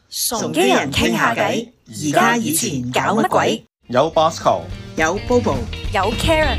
崇基人傾下偈，而家以前搞乜鬼？ 有 Bosco， 有 Bobo， 有 Karen。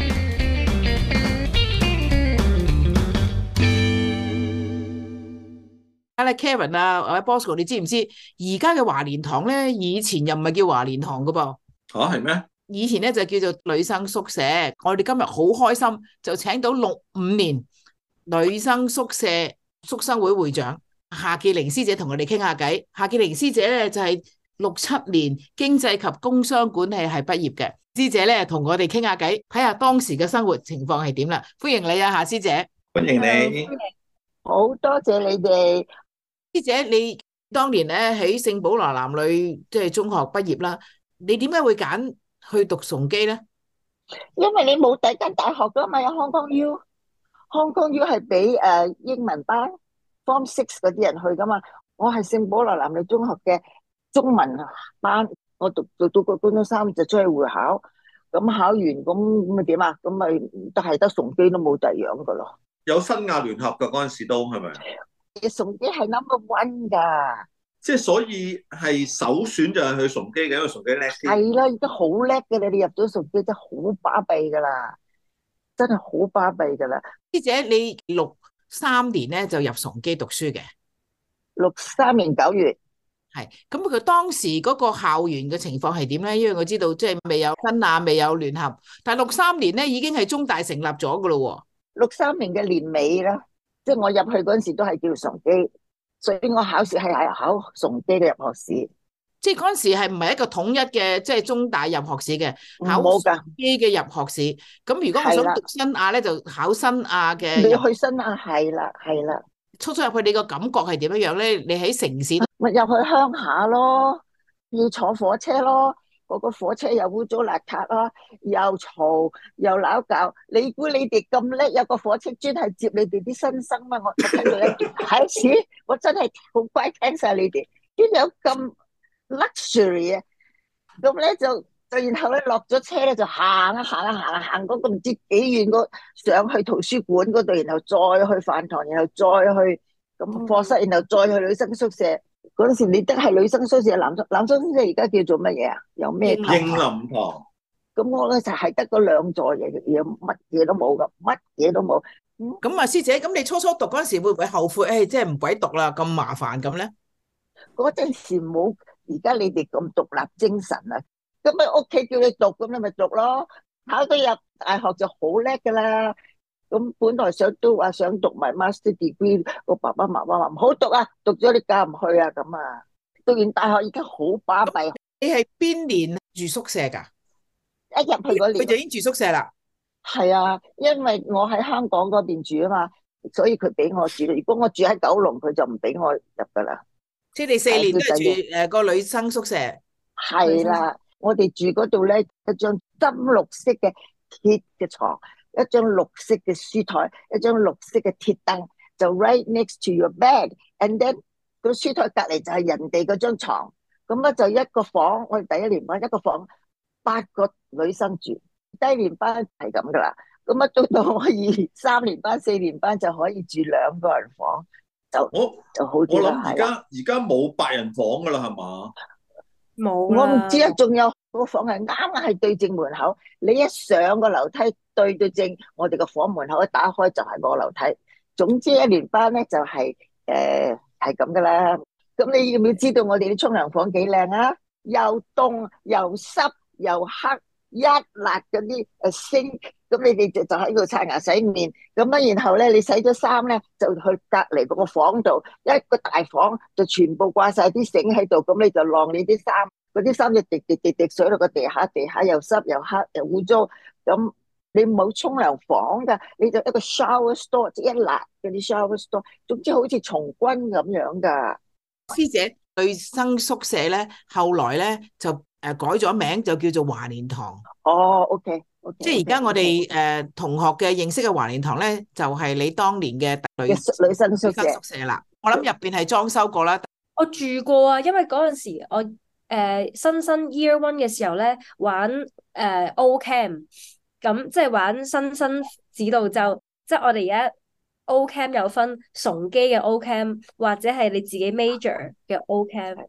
Karen 啊，或者 Bosco， 你知唔知而家嘅華蓮堂咧，以前又唔係叫華蓮堂噶噃？ 吓，係咩？ 以前咧就叫做女生宿舍。我哋今日好開心，就請到65年女生宿舍宿生會會長夏潔玲師姐同我哋傾下偈。夏潔玲師姐咧就係67年經濟及工商管理系畢業嘅師姐咧，同我哋傾下偈，睇下當時嘅生活情況係點啦。歡迎你啊，夏師姐。 歡迎你。 好多謝你哋。 師姐，你當年咧喺聖保羅男女即係中學畢業啦，你點解會揀去讀崇基咧？ 因為你冇第一間大學噶嘛，有 Hong Kong U，Hong Kong U 係俾英文班 Form 6嗰啲人去噶嘛。我係聖保羅男女中學嘅中文班，我讀到個高中3就出去會考，咁考完咁咪點啊？咁咪都係得崇基都冇第二樣噶咯。 有新亞聯合噶嗰陣時都係咪？ 崇基係 No.1 噶， 即係所以係首選就係去崇基嘅，因為崇基叻啲。係啦，已經好叻嘅，你入咗崇基真係好巴閉噶啦，真係好巴閉噶啦。 師姐，你63年咧就入崇基讀書嘅 ，63年9月。 係，咁佢當時嗰個校園嘅情況係點咧？因為我知道即係未有新亞，未有聯合，但係63年咧已經係中大成立咗噶咯喎。 63年嘅年尾啦。即係我入去嗰陣時都係叫崇基，所以我考試係考崇基嘅入學試。即係嗰陣時係唔係一個統一嘅，即係中大入學試嘅，考崇基嘅入學試。咁如果我想讀新亞咧，就考新亞嘅。你去新亞係啦，係啦。初入去你個感覺係點樣樣咧？你喺城市咪入去鄉下咯，要坐火車咯。嗰個火車又污糟邋遢啦，又嘈又鬧交。你估你哋咁叻，有個火車專係接你哋啲新生咩？我聽到一開始，我真係好乖聽晒你哋，邊有咁 luxury 啊？咁咧就然後咧落咗車咧就行嗰個唔知幾遠個上去圖書館嗰度，然後再去飯堂，然後再去咁課室，然後再去女生宿舍。嗰陣時你得係女生宿舍，男生宿舍而家叫做乜嘢啊？有咩堂？ 英林堂。 咁我咧就係得嗰2座嘢，乜嘢都冇噶，乜嘢都冇。 咁啊，師姐，咁你初讀嗰陣時會唔會後悔？即係唔鬼讀啦，咁麻煩咁咧？ 嗰陣時冇而家你哋咁獨立精神啊！咁喺屋企叫你讀，咁你咪讀咯。考到入大學就好叻噶啦。咁本來都話想讀埋 master degree， 個爸爸媽媽話唔好讀啊，讀咗你嫁唔去啊咁啊。讀完大學已經好巴閉。 你係邊年住宿舍噶？ 一入去嗰年佢就已經住宿舍啦。 係啊，因為我喺香港嗰邊住啊嘛，所以佢俾我住。如果我住喺九龍，佢就唔俾我入噶啦。 即係你4年都係住個女生宿舍。 係啦，我哋住嗰度咧，一張深綠色嘅鐵嘅床，一張綠色嘅書台，一張綠色嘅鐵凳，就 right next to your bed，and then 個書台隔籬就係人哋嗰張床，咁咧就一個房，我哋第1年班一個房8個女生住，低年班係咁噶啦，咁啊到我3年班、4年班就可以住2個人房，就好啲啦。 我諗而家冇8人房噶啦，係嘛？ 冇， 我唔知啊，仲有個房係啱係對正門口，你一上個樓梯對到正我哋個房門口，一打開就係個樓梯。總之1年班咧就係係咁噶啦。咁你要唔要知道我哋啲沖涼房幾靚啊？又凍又濕又黑，一辣嗰啲星，咁你哋就喺度刷牙洗面，咁啊然後咧你洗咗衫咧就去隔籬嗰個房度，一個大房就全部掛晒啲繩喺度，咁你就晾你啲衫，嗰啲衫就滴水落個地下，地下又濕又黑又污糟，咁你冇沖涼房噶，你就一個 shower store， 即一辣嗰啲 shower store， 總之好似從軍咁樣噶。 師姐，女生宿舍咧後來咧就改咗名，就叫做華蓮堂。 哦，OK， 即係而家我哋同學嘅認識嘅華蓮堂咧，就係你當年嘅女生宿舍啦。我諗入邊係裝修過啦。 我住過啊，因為嗰陣時我新 Year 1嘅時候咧玩O Camp， 咁即係玩新指導就，即係我哋而家 O Camp 有分崇基嘅 O Camp 或者係你自己 major 嘅 O Camp。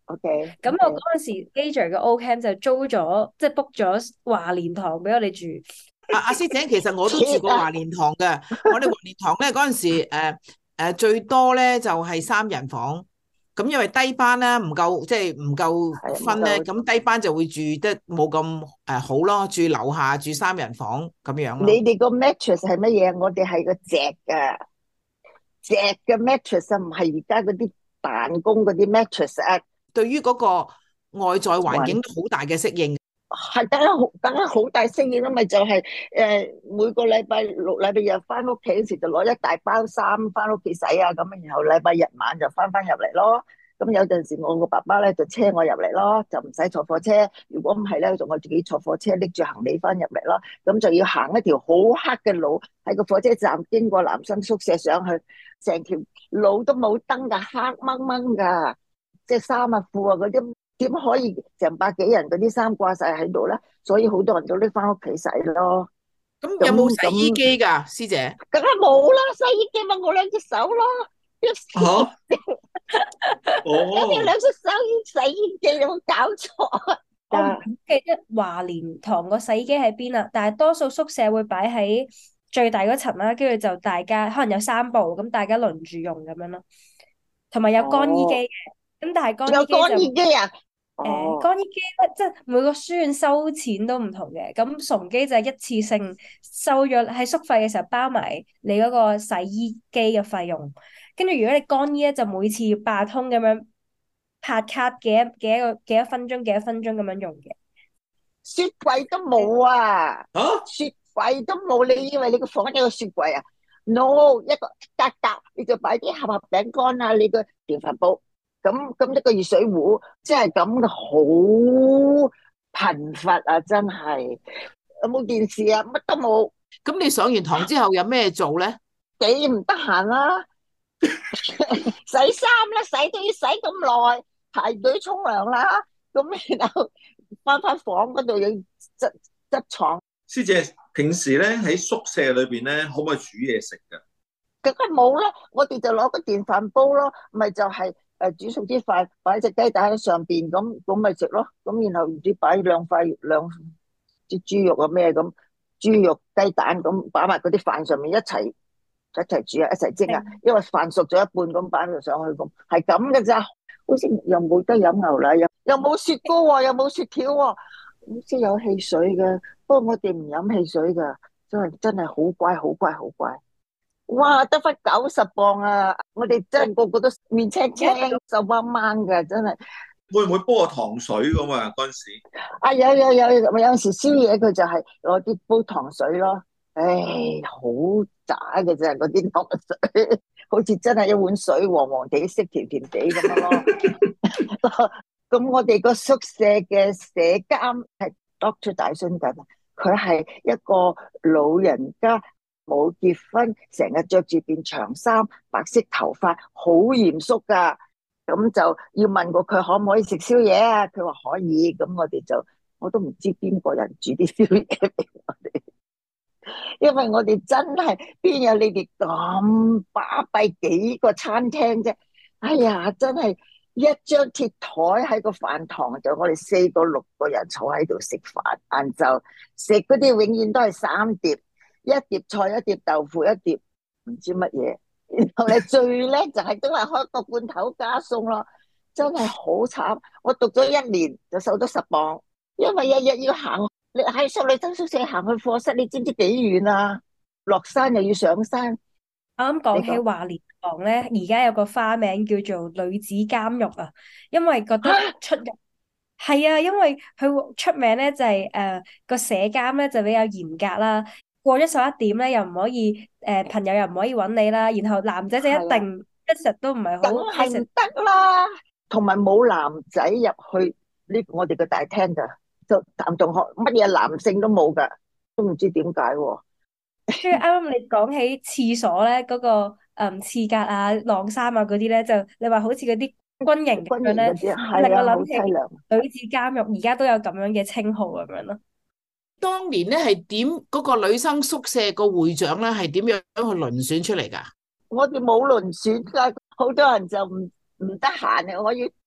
OK， 咁我嗰陣時 Gage 嘅 O Camp 就租咗，即係 book 咗華蓮堂俾我哋住。 阿師姐，其實我都住過華蓮堂嘅。我哋華蓮堂咧嗰陣時，最多咧就係3人房。咁因為低班咧唔夠，即係唔夠分咧，咁低班就會住得冇咁好咯，住樓下住3人房咁樣咯。 你哋個 mattress 係乜嘢？我哋係個席嘅 mattress 啊，唔係而家嗰啲辦公嗰啲 mattress 啊。 對於嗰個外在環境都好大嘅適應。 係梗係好大適應啦，咪就係每個禮拜六、禮拜日翻屋企嗰時就攞一大包衫翻屋企洗啊，咁然後禮拜日晚就翻入嚟咯。咁有陣時我個爸爸咧就車我入嚟咯，就唔使坐火車。如果唔係咧，就我自己坐火車拎住行李翻入嚟咯。咁就要行一條好黑嘅路，喺個火車站經過男生宿舍上去，成條路都冇燈噶，黑掹掹噶，即係衫啊褲啊嗰啲。點可以成百幾人嗰啲衫掛晒喺度咧？所以好多人都拎翻屋企洗咯。 咁有冇洗衣機噶，師姐？ 梗係冇啦，洗衣機咪我2隻手咯。 吓？ 有冇2隻手洗衣機？有冇搞錯？ 我唔記得華蓮堂個洗衣機喺邊啦，但係多數宿舍會擺喺最大嗰層啦，跟住就大家可能有3部，咁大家輪住用咁樣咯。同埋有乾衣機嘅，咁但係乾衣機啊？乾衣機咧，即係每個書院收錢都唔同嘅。咁崇基就係一次性收咗喺宿費嘅時候包埋你嗰個洗衣機嘅費用。跟住如果你乾衣咧，就每次要八通咁樣拍卡幾多分鐘咁樣用嘅。 雪櫃都冇啊！雪櫃都冇，你以為你個房有個雪櫃啊？No， 一個格格你就擺啲盒餅乾啊，你個電飯煲。咁一個熱水壺，即係咁嘅，好貧乏啊！真係有冇電視啊？乜都冇。 咁你上完堂之後有咩做咧？ 幾唔得閒啦，洗衫啦，洗都要洗咁耐，排隊沖涼啦，咁然後翻房嗰度要執床。 師姐平時咧喺宿舍裏邊咧，可唔可以煮嘢食噶？ 梗係冇啦，我哋就攞個電飯煲咯，咪就係。煮熟啲飯，擺隻雞蛋喺上邊，咁咪食咯。咁然後唔知擺兩隻豬肉啊咩咁，豬肉雞蛋咁擺埋嗰啲飯上面一齊煮啊，一齊蒸啊。因為飯熟咗一半咁擺咗上去咁，係咁嘅咋。好似又冇得飲牛奶，又冇雪糕喎，又冇雪條喎，好似有汽水嘅。不過我哋唔飲汽水噶，真係好乖。哇，得翻90磅啊！我哋真係個個都面青青、瘦掹掹嘅，真係。 會唔會煲個糖水咁啊？嗰陣時啊，有時宵夜佢就係攞啲煲糖水咯。唉，好渣嘅啫，嗰啲糖水，好似真係一碗水黃黃地色、甜甜地咁樣咯。咁我哋個宿舍嘅舍監係 Doctor 大孫緊，佢係一個老人家。冇結婚，成日着住件長衫，白色頭髮，好嚴肅噶。咁就要問過佢可唔可以食宵夜啊？佢話可以。咁我都唔知邊個人煮啲宵夜俾我哋，因為我哋真係邊有你哋咁巴閉幾個餐廳啫。哎呀，真係一張鐵台喺個飯堂，就我哋4個6個人坐喺度食飯，晏晝食嗰啲永遠都係3碟。一碟菜，一碟豆腐，一碟唔知乜嘢，然後你最叻就係都係開個罐頭加餸咯，真係好慘。我讀咗1年就瘦咗10磅，因為日日要行，你喺女生宿舍行去課室，你知唔知幾遠啊？落山又要上山。 啱講起華蓮堂咧，而家有個花名叫做女子監獄啊，因為覺得出入係啊，因為佢出名咧就係個舍監咧就比較嚴格啦。過咗11點咧，又唔可以朋友又唔可以揾你啦。然後男仔就一定一直都唔係好， 梗係唔得啦。同埋冇男仔入去呢我哋個大廳噶，就男同學乜嘢男性都冇噶，都唔知點解。 跟住啱啱你講起廁所咧，嗰個廁格啊、晾衫啊嗰啲咧，就你話好似嗰啲軍營咁樣咧，令我諗起女子監獄，而家都有咁樣嘅稱號咁樣咯。 當年咧係點嗰個女生宿舍個會長咧係點樣去輪選出嚟噶？ 我哋冇輪選噶，好多人就唔得閒啊！我要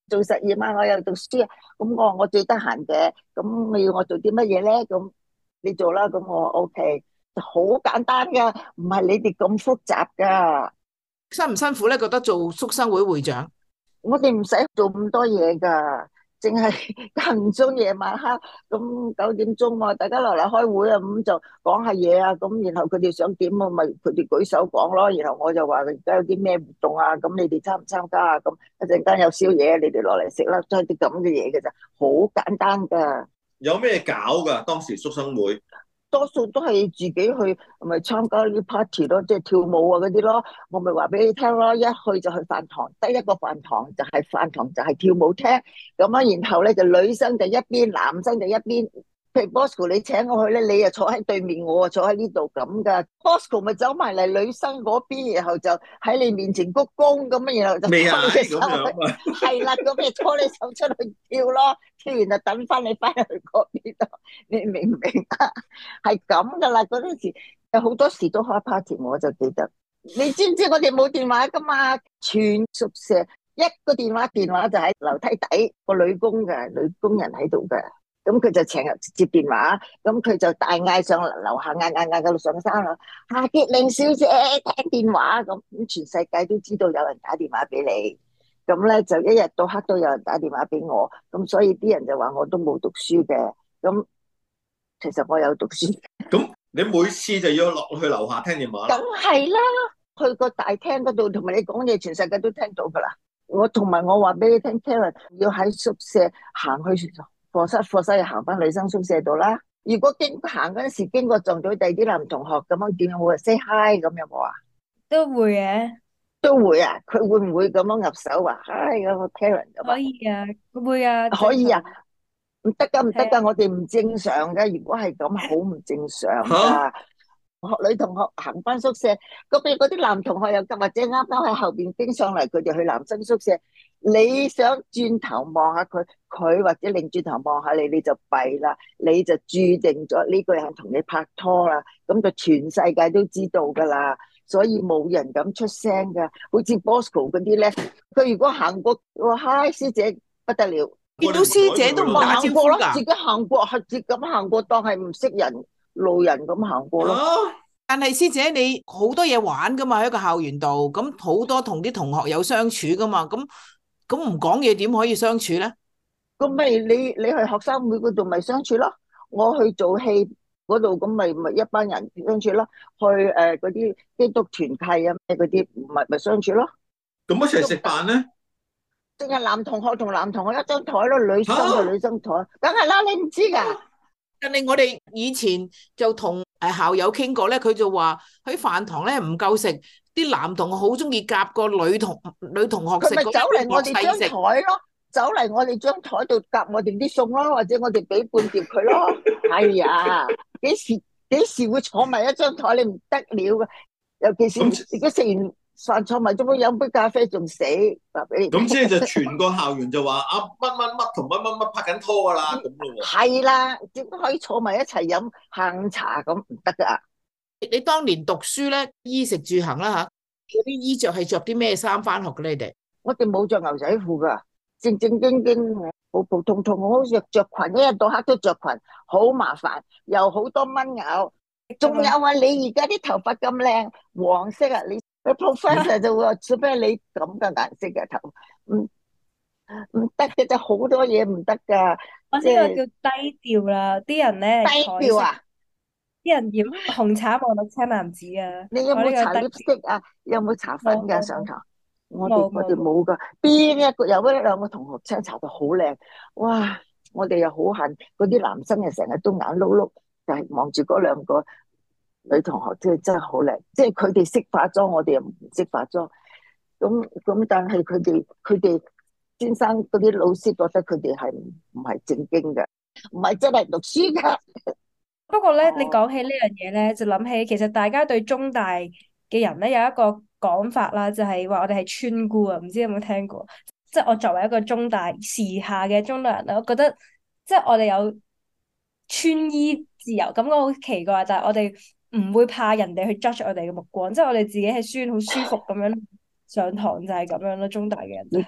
做實驗啊，我又讀書啊，咁我最得閒嘅，咁你要我做啲乜嘢咧？咁你做啦，咁我 OK，好簡單噶，唔係你哋咁複雜噶。 辛唔辛苦咧？覺得做宿生會會長， 我哋唔使做咁多嘢噶，淨係間唔中夜晚黑咁9點鐘啊，大家落嚟開會啊，咁就講下嘢啊，咁然後佢哋想點啊，咪佢哋舉手講咯，然後我就話而家有啲咩活動啊，咁你哋參唔參加啊？咁一陣間有宵夜，你哋落嚟食啦，都係啲咁嘅嘢嘅咋，好簡單噶。 有咩搞噶？當時宿生會多數都係自己去，咪參加啲 party 咯，即係跳舞啊嗰啲咯。我咪話俾你聽咯，一去就去飯堂，得一個飯堂就係飯堂就係跳舞廳。咁啊，然後咧就女生就一邊，男生就一邊。譬如 Bosco 你請我去咧，你又坐喺對面，我啊坐喺呢度咁噶。Bosco 咪走埋嚟女生嗰邊，然後就喺你面前鞠躬咁啊，然後就未啊？ 拖你手咁樣啊？ 係啦，咁咪拖你手出去跳咯，跳完就等翻你翻去嗰邊度，你明唔明啊？係咁噶啦，嗰陣時有好多時都開 party，我就記得。你知唔知我哋冇電話噶嘛？全宿舍一個電話就喺樓梯底個女工嘅女工人喺度嘅。咁佢就成日接電話，咁佢就大嗌上樓下，嗌到上山啦。夏潔玲小姐聽電話，咁全世界都知道有人打電話俾你，咁咧就一日到黑都有人打電話俾我，咁所以啲人就話我都冇讀書嘅，咁其實我有讀書。 咁你每次就要落去樓下聽電話？ 梗係啦，去個大廳嗰度同埋你講嘢，全世界都聽到噶啦。我同埋我話俾你聽 Karen 要喺宿舍行去課室行翻女生宿舍度啦。如果行嗰陣時經過撞到第二啲男同學咁樣，點樣會 say hi 咁有冇啊？ 都會嘅， 都會啊。佢會唔會咁樣入手話 hi 嗰個 Karen 咁啊？ 可以啊，會啊， 可以啊。唔得噶，唔得噶， 係啊我哋唔正常嘅。如果係咁，好唔正常噶。學女同學行翻宿舍，嗰邊嗰啲男同學又或者啱啱喺後邊經上嚟，佢哋去男生宿舍。你想轉頭望下佢，佢或者擰轉頭望下你，你就弊啦，你就注定咗呢個人同你拍拖啦，咁就全世界都知道噶啦，所以冇人敢出聲噶。好似 Bosco 嗰啲咧，佢如果行過，話嗨師姐不得了， 見到師姐都唔打招呼㗎， 自己行過係自己咁行過，當係唔識人路人咁行過咯。 但係師姐你好多嘢玩噶嘛，喺個校園度，咁好多同啲同學有相處噶嘛，咁唔講嘢點可以相處咧？ 咁咪你去學生會嗰度咪相處咯，我去做戲嗰度咁咪一班人相處咯，去嗰啲基督團契啊咩嗰啲咪相處咯。 咁一齊食飯咧？ 淨係男同學同男同學一張台咯，女生就女生台，梗係啦，你唔知噶。 但係我哋以前就同校友傾過咧，佢就話喺飯堂咧唔夠食，啲男同學好中意夾個女同學食， 佢咪走嚟我哋張台咯，走嚟我哋張台度夾我哋啲餸咯，或者我哋俾半碟佢咯。係啊，幾時會坐埋一張台？你唔得了噶，尤其是如果食完飯坐埋中間飲杯咖啡仲死，話俾你。 咁即係就全個校園就話啊乜乜乜同乜乜乜拍緊拖噶啦咁咯喎。 係啦，點可以坐埋一齊飲下午茶咁唔得噶？ 你當年讀書咧，衣食住行啦吓，嗰啲衣着係着啲咩衫翻學嘅咧？你哋？ 我哋冇着牛仔褲噶，正正經經，普普通通，我好似着裙，一日到黑都着裙，好麻煩，又好多蚊咬。仲有啊，你而家啲頭髮咁靚，黃色啊，你 professor 就會話做咩你咁嘅顏色嘅頭，唔得嘅，就好多嘢唔得噶。 我呢個叫低調啦，啲人咧低調啊！ 啲人染紅橙黃綠青藍紫啊！ 你有冇搽 lipstick 啊？有冇搽粉噶上堂？我哋冇噶，邊一個有一兩個同學青搽到好靚，哇！我哋又好恨嗰啲男生，又成日都眼碌碌，就係望住嗰兩個女同學，真係好靚，即係佢哋識化妝，我哋又唔識化妝。咁，但係佢哋先生嗰啲老師覺得佢哋係唔係正經嘅，唔係真係讀書噶。 不過咧，你講起呢樣嘢咧，就諗起其實大家對中大嘅人咧有一個講法啦，就係話我哋係村姑啊，唔知有冇聽過？即係我作為一個中大時下嘅中大人咧，我覺得即係我哋有穿衣自由，感覺好奇怪，但係我哋唔會怕人哋去 judge 我哋嘅目光，即係我哋自己係書院好舒服咁樣上堂，就係咁樣咯。中大嘅人就係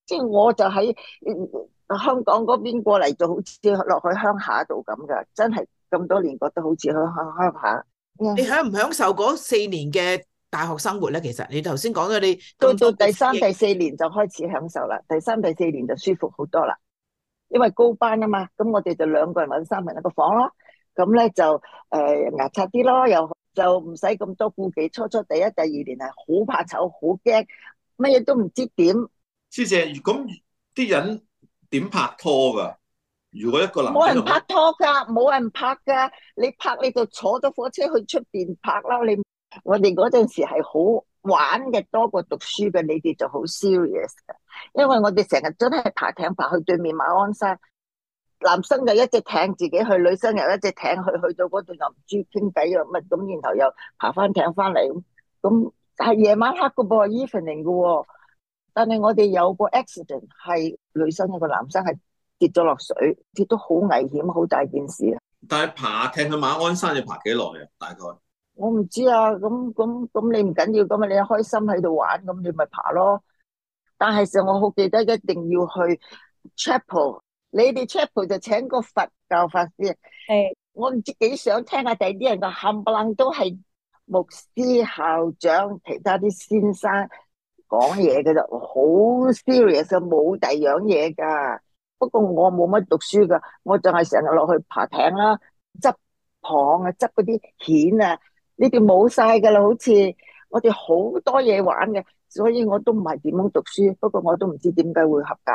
即係我就喺香港嗰邊過嚟，就好似落去鄉下度咁噶，真係咁多年覺得好似鄉下。 你享唔享受嗰4年嘅大學生活咧？其實你頭先講咗你到第3、第4年就開始享受啦，第3、第4年就舒服好多啦，因為高班啊嘛，咁我哋就2個人或者3個人一個房咯，咁咧就牙刷啲咯，又就唔使咁多顧忌。初第1、第2年係好怕醜，好驚，乜嘢都唔知點。 師姐，咁啲人點拍拖噶？如果一個男冇人拍拖噶，冇人拍噶，你拍你就坐咗火車去出邊拍啦。我哋嗰陣時係好玩嘅多過讀書嘅，你哋就好 serious 嘅，因為我哋成日真係爬艇爬去對面馬鞍山，男生就一隻艇自己去，女生又一隻艇去到嗰度又唔知傾偈又乜咁，然後又爬翻艇翻嚟咁，係夜晚黑噶噃 evening 噶，但係我哋有個 accident 係女生一個男生係跌咗落水，跌到好危險，好大件事啊！ 但係爬艇去馬鞍山要爬幾耐啊？大概我唔知啊，咁你唔緊要咁啊，你開心喺度玩，咁你咪爬咯。但係實我好記得一定要去 chapel， 你哋 chapel 就請個佛教法師。 係， 我唔知幾想聽下第啲人個冚唪唥都係牧師、校長、其他啲先生講嘢嘅就好 serious，冇第二樣嘢噶。不過我冇乜讀書噶，我就係成日落去爬艇啦，執蚌啊，執嗰啲蜆啊。你哋冇晒噶啦，好似我哋好多嘢玩嘅，所以我都唔係點樣讀書，不過我都唔知點解會合格。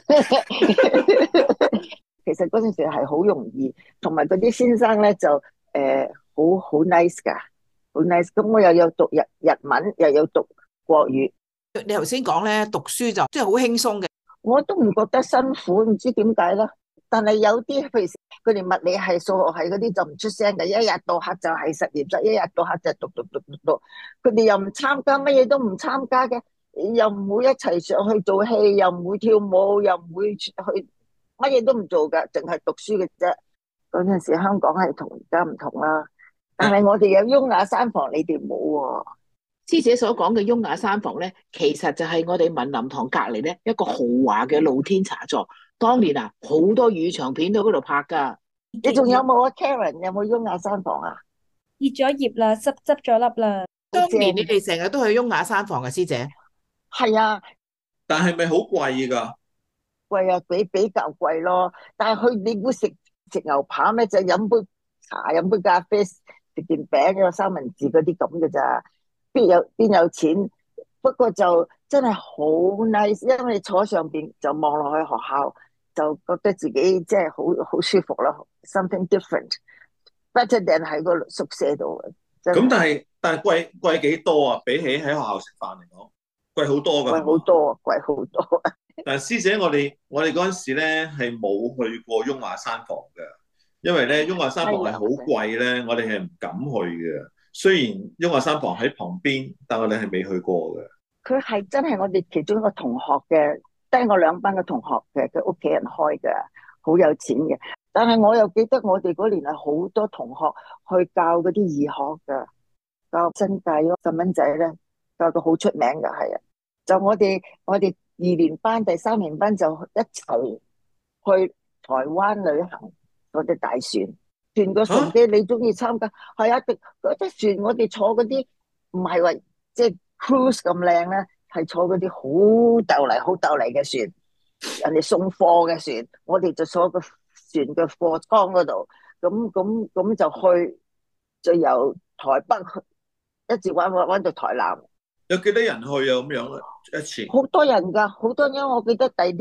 其實嗰陣時係好容易，同埋嗰啲先生咧就好 nice 噶，好 nice。咁我又有讀日文，又有讀國語。 你頭先講咧，讀書就即係好輕鬆嘅， 我都唔覺得辛苦，唔知點解啦。但係有啲譬如佢哋物理係、數學係嗰啲就唔出聲嘅，一日到黑就係實驗室，一日到黑就讀。佢哋又唔參加，乜嘢都唔參加嘅，又唔會一齊上去做戲，又唔會跳舞，又唔會去乜嘢都唔做噶，淨係讀書嘅啫。嗰陣時香港係同而家唔同啦，但係我哋有雍雅山房，你哋冇喎。 師姐所講嘅雍雅山房咧，其實就係我哋文林堂隔籬咧一個豪華嘅露天茶座。當年啊，好多粵語長片都喺嗰度拍噶。 你仲有冇啊 Karen？ 有冇雍雅山房啊？ 結咗業啦，執咗笠啦。 當年你哋成日都去雍雅山房嘅，師姐。 係啊， 但係咪好貴噶？ 貴啊，比較貴咯。但係你會食牛扒咩？就飲杯茶，飲杯咖啡，食件餅，有三文治嗰啲咁嘅咋？邊有錢？不過就真係好 nice，因為你坐上邊就望落去學校，就覺得自己即係好舒服咯。Something different，better than 喺個宿舍度。 咁但係貴幾多啊？比起喺學校食飯嚟講，貴好多噶。 貴好多。 但係師姐，我哋嗰陣時咧係冇去過雍雅山房嘅，因為咧雍雅山房係好貴咧，我哋係唔敢去嘅。雖然雍雅山房喺旁邊，但我哋係未去過嘅。 佢係真係我哋其中一個同學嘅，低我2班嘅同學嘅，佢屋企人開嘅，好有錢嘅。但係我又記得我哋嗰年係好多同學去教嗰啲義學嘅，教新界咯，細蚊仔咧教到好出名嘅，係啊。就我哋2年班、第3年班就一齊去台灣旅行，嗰隻大船。船個船機你中意參加？係啊，嗰隻船我哋坐嗰啲唔係話即係 cruise 咁靚咧，係坐嗰啲好斗嚟嘅船，人哋送貨嘅船，我哋就坐個船嘅貨艙嗰度，咁就去，就由台北一直玩到台南。 有幾多人去啊？咁樣一次？ 好多人噶，好多人。我記得第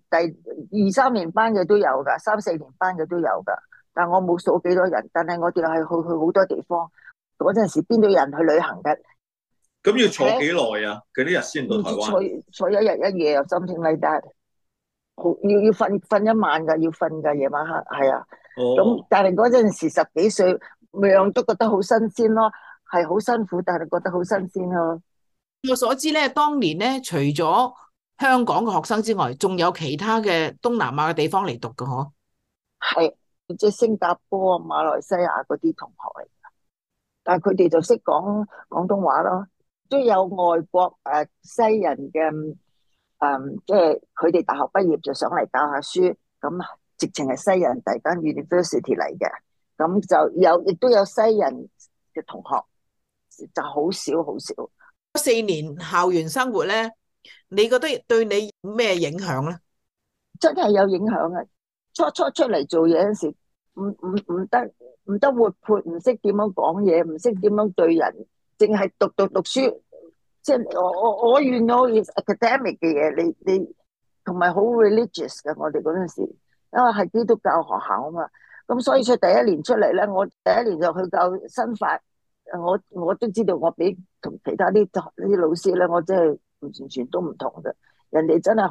2、3年班嘅都有噶，3、4年班嘅都有噶。但我冇數幾多人，但係我哋係去好多地方。嗰陣時邊度有人去旅行嘅？ 咁要坐幾耐啊？幾多日先到台灣？ 坐1日1夜又 something like that。要瞓一晚噶，要瞓噶，夜晚黑係啊。咁但係嗰陣時10幾歲，樣都覺得好新鮮咯，係好辛苦，但係覺得好新鮮咯。 我所知咧，當年咧除咗香港嘅學生之外，仲有其他嘅東南亞嘅地方嚟讀嘅嗬。 係。即係新加坡啊、馬來西亞嗰啲同學嚟㗎，但係佢哋就識講廣東話咯。都有外國西人嘅即係佢哋大學畢業就上嚟教下書，咁直情係西人第間 university 嚟嘅，咁就亦都有西人嘅同學，就好少好少。 4年校園生活咧，你覺得對你有咩影響咧？ 真係有影響啊！初出嚟做嘢嗰時，唔得活潑，唔識點樣講嘢，唔識點樣對人，淨係讀書。即係我you know is academic 嘅嘢，你同埋好 religious 嘅。我哋嗰陣時，因為係基督教學校啊嘛，咁所以佢第一年出嚟咧，我第一年就去教新法，我都知道我比同其他啲老師咧，我真係完全都唔同嘅。人哋真係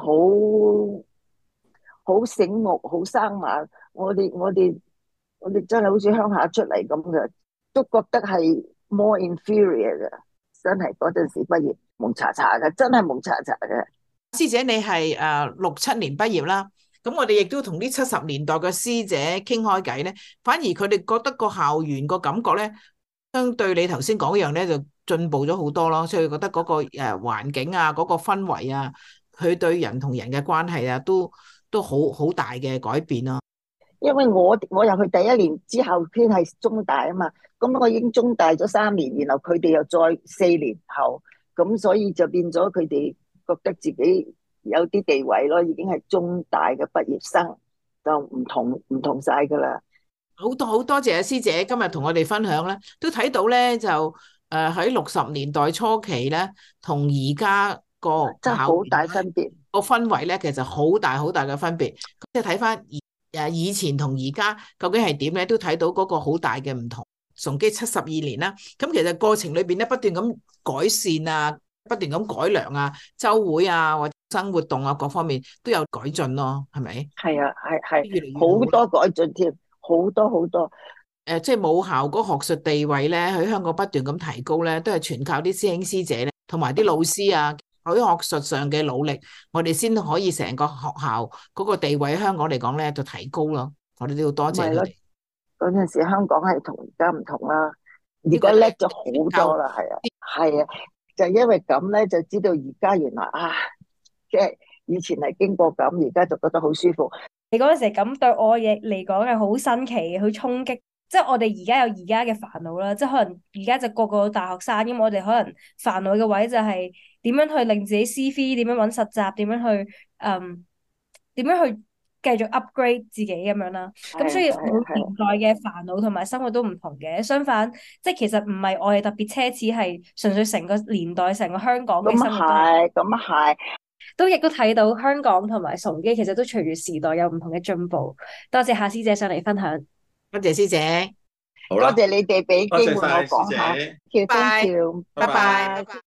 好醒目，好生猛。我哋真係好似鄉下出嚟咁嘅，都覺得係 more inferior 嘅。真係嗰陣時畢業蒙查查嘅，真係蒙查查嘅。 師姐你係67年畢業啦，咁我哋亦都同啲70年代嘅師姐傾開偈咧，反而佢哋覺得個校園個感覺咧，相對你頭先講一樣咧，就進步咗好多咯。所以覺得嗰個環境啊，嗰個氛圍啊，佢對人同人嘅關係啊，都好大嘅改變咯。 因為我入去第一年之後，先係中大啊嘛，咁我已經中大咗3年，然後佢哋又再4年後，咁所以就變咗佢哋覺得自己有啲地位咯，已經係中大嘅畢業生，就唔同晒噶啦。 好多謝阿師姐今日同我哋分享咧，都睇到咧就喺60年代初期咧，同而家個真係好大分別， 個氛圍咧，其實好大嘅分別。即係睇翻以前同而家究竟係點咧，都睇到嗰個好大嘅唔同。崇基72年啦，咁其實過程裏邊咧不斷咁改善啊，不斷咁改良啊，週會啊或者生活動啊各方面都有改進咯，係咪？ 係啊，係好多改進添，好多。 即係母校嗰學術地位咧，喺香港不斷咁提高咧，都係全靠啲師兄師姐咧，同埋啲老師啊，喺學術上嘅努力，我哋先可以成個學校嗰個地位喺香港嚟講咧就提高咯。我哋都要多謝佢哋。 嗰陣時香港係同而家唔同啦，而家叻咗好多啦，係啊，就因為咁咧，就知道而家原來即係以前係經過咁，而家就覺得好舒服。 你嗰陣時咁對我嚟講係好新奇，好衝擊。即係我哋而家有而家嘅煩惱啦，即係可能而家就個個大學生，咁我哋可能煩惱嘅位就係點樣去令自己 CV，點樣搵實習，點樣去繼續 upgrade 自己咁樣啦。咁所以每年代嘅煩惱同埋生活都唔同嘅。相反，即係其實唔係我哋特別奢侈，係純粹成個年代、成個香港嘅生活咁係。 都亦都睇到香港同埋崇基其實都隨住時代有唔同嘅進步。多謝夏師姐上嚟分享。 多謝師姐， 好啦， 多謝你哋俾機會我講下， 多謝晒師姐， 拜拜。